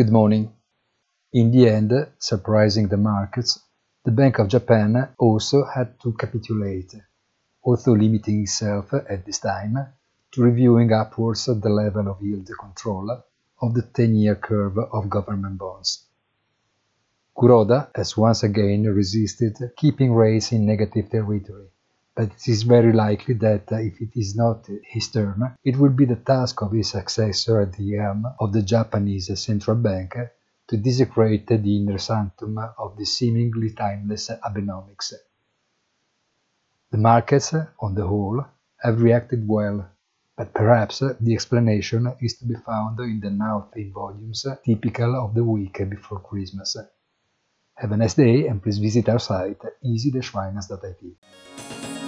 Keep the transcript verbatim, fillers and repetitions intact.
Good morning. In the end, surprising the markets, the Bank of Japan also had to capitulate, although limiting itself at this time to reviewing upwards the level of yield control of the ten-year curve of government bonds. Kuroda has once again resisted keeping rates in negative territory, but it is very likely that if it is not his turn, it will be the task of his successor at the helm of the Japanese central bank to desecrate the inner sanctum of the seemingly timeless Abenomics. The markets, on the whole, have reacted well, but perhaps the explanation is to be found in the now thin volumes typical of the week before Christmas. Have a nice day and please visit our site easy dash finance dot I T.